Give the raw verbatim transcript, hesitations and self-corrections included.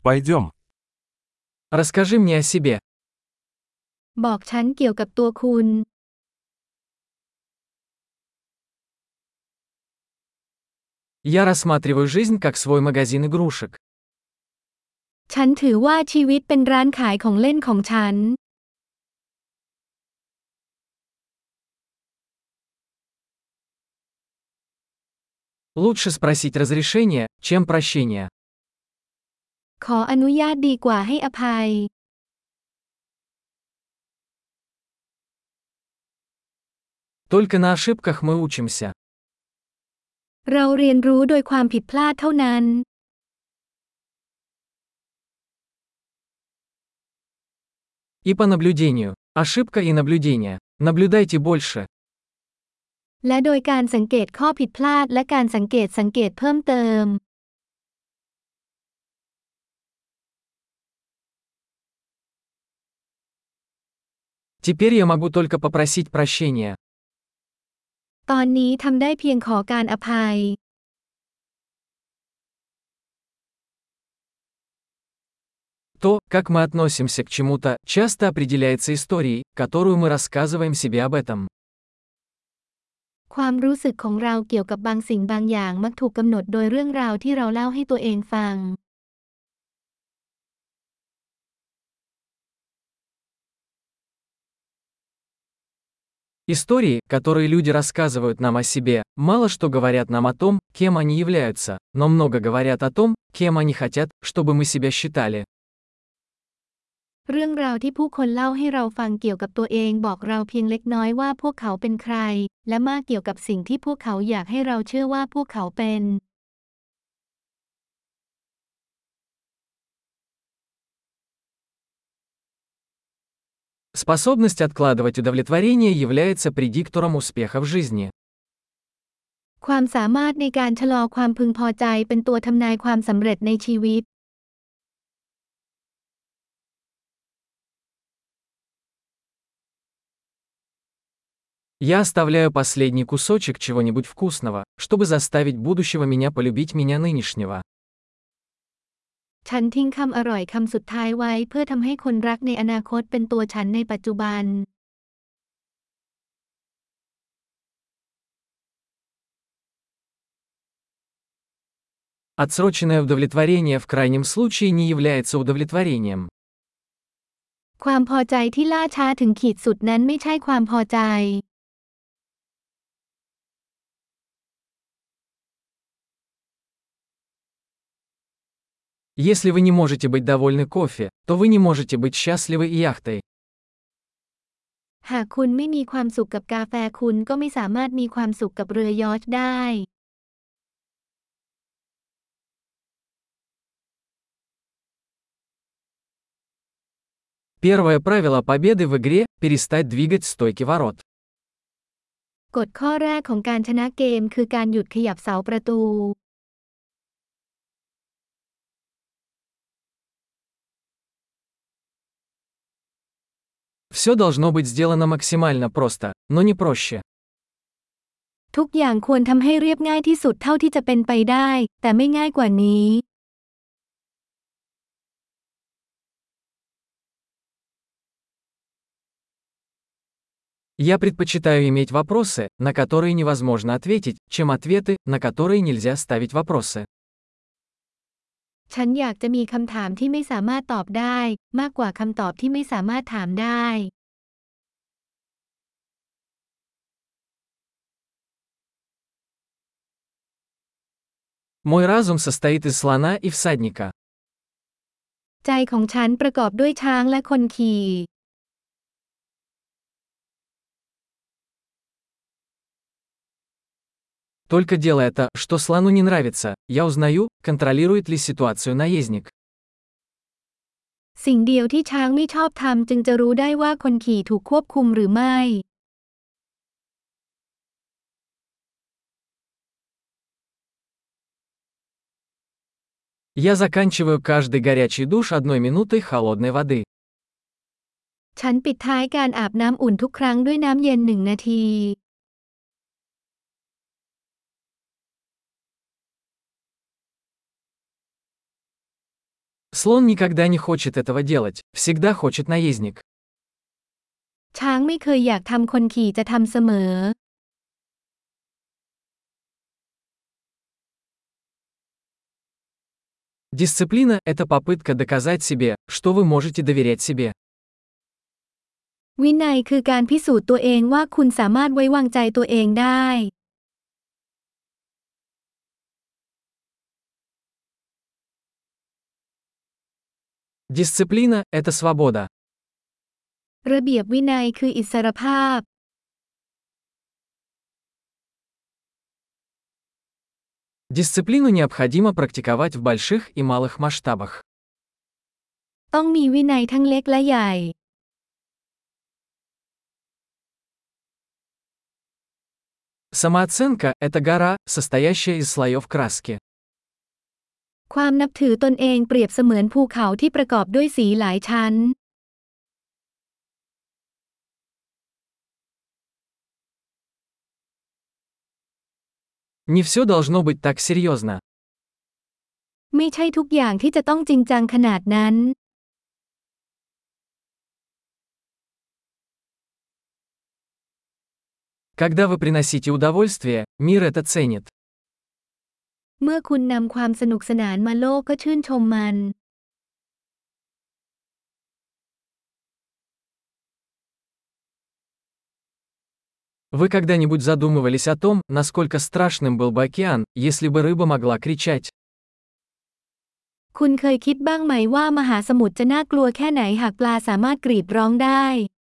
Пойдем. Расскажи мне о себе. บอกฉันเกี่ยวกับตัวคุณ Я рассматриваю жизнь как свой магазин игрушек. ฉันถือว่าชีวิตเป็นร้านขายของเล่นของฉัน Лучше спросить разрешения, чем прощения. ขออนุญาตดีกว่าให้อภัย Только на ошибках мы учимся. เราเรียนรู้โดยความผิดพลาดเท่านั้น И по наблюдению. Ошибка и наблюдение. Наблюдайте больше. และโดยการสังเกตข้อผิดพลาดและการสังเกตสังเกตเพิ่มเติม Теперь я могу только попросить прощения. ตอนนี้ทำได้เพียงขอการอภัย То, как мы относимся к чему-то, часто определяется историей, которую мы рассказываем себе об этом. ความรู้สึกของเราเกี่ยวกับบางสิ่งบางอย่างมักถูกกำหนดโดยเรื่องราวที่เราเล่าให้ตัวเองฟัง Истории, которые люди рассказывают нам о себе, мало что говорят нам о том, кем они являются, но много говорят о том, кем они хотят, чтобы мы себя считали. เรื่องราวที่ผู้คนเล่าให้เราฟังเกี่ยวกับตัวเองบอกเราเพียงเล็กน้อยว่าพวกเขาเป็นใคร และมากเกี่ยวกับสิ่งที่พวกเขาอยากให้เราเชื่อว่าพวกเขาเป็น Способность откладывать удовлетворение является предиктором успеха в жизни. ความสามารถในการชะลอความพึงพอใจเป็นตัวทำนายความสำเร็จในชีวิต Я оставляю последний кусочек чего-нибудь вкусного, чтобы заставить будущего меня полюбить меня нынешнего. ฉันทิ้งคำอร่อยคำสุดท้ายไว้เพื่อทำให้คนรักในอนาคตเป็นตัวฉันในปัจจุบัน Отсроченное удовлетворение в крайнем случае не является удовлетворением. ความพอใจที่ล่าช้าถึงขีดสุดนั้นไม่ใช่ความพอใจ Если вы не можете быть довольны кофе, то вы не можете быть счастливы и яхтой. หากคุณไม่มีความสุขกับกาแฟคุณก็ไม่สามารถมีความสุขกับเรือยอชท์ได้ Первое правило победы в игре – перестать двигать стойки ворот. กฎข้อแรกของการชนะเกมคือการหยุดขยับเสาประตู Все должно быть сделано максимально просто, но не проще. ทุกอย่างควรทำให้เรียบง่ายที่สุดเท่าที่จะเป็นไปได้ แต่ไม่ง่ายกว่านี้ Я предпочитаю иметь вопросы, на которые невозможно ответить, чем ответы, на которые нельзя ставить вопросы. ฉันอยากจะมีคำถามที่ไม่สามารถตอบได้มากกว่าคำตอบที่ไม่สามารถถามได้ Мой разум состоит из слона и всадника. ใจของฉันประกอบด้วยช้างและคนขี่ Только делая то, что слону не нравится, я узнаю, контролирует ли ситуацию наездник. สิ่งเดียวที่ช้างไม่ชอบทำจึงจะรู้ได้ว่าคนขี่ถูกควบคุมหรือไม่ Я заканчиваю каждый горячий душ одной минутой холодной воды. ฉันปิดท้ายการอาบน้ำอุ่นทุกครั้งด้วยน้ำเย็นหนึ่งนาที С Слон никогда не хочет этого делать, всегда хочет наездник. ช้างไม่เคยอยากทำคนขี่จะทำเสมอ Дисциплина – это попытка доказать себе, что вы можете доверять себе. วินัยคือการพิสูจน์ตัวเองว่าคุณสามารถไว้วางใจตัวเองได้ Дисциплина – это свобода. ระเบียบวินัยคืออิสรภาพ Дисциплину необходимо практиковать в больших и малых масштабах. ต้องมีวินัยทั้งเล็กและใหญ่ Самооценка – это гора, состоящая из слоев краски. ความนับถือตนเองเปรียบเสมือนภูเขาที่ประกอบด้วยสีหลายชั้น Не все должно быть так серьезно. ไม่ใช่ทุกอย่างที่จะต้องจริงจังขนาดนั้น Когда вы приносите удовольствие, мир это ценит. เมื่อคุณนำความสนุกสนานมาโลกก็ชื่นชมมัน Вы когда-нибудь задумывались о том, насколько страшным был бы океан, если бы рыба могла кричать? คุณเคยคิดบ้างไหมว่ามหาสมุทรจะน่ากลัวแค่ไหนหากปลาสามารถกรีดร้องได้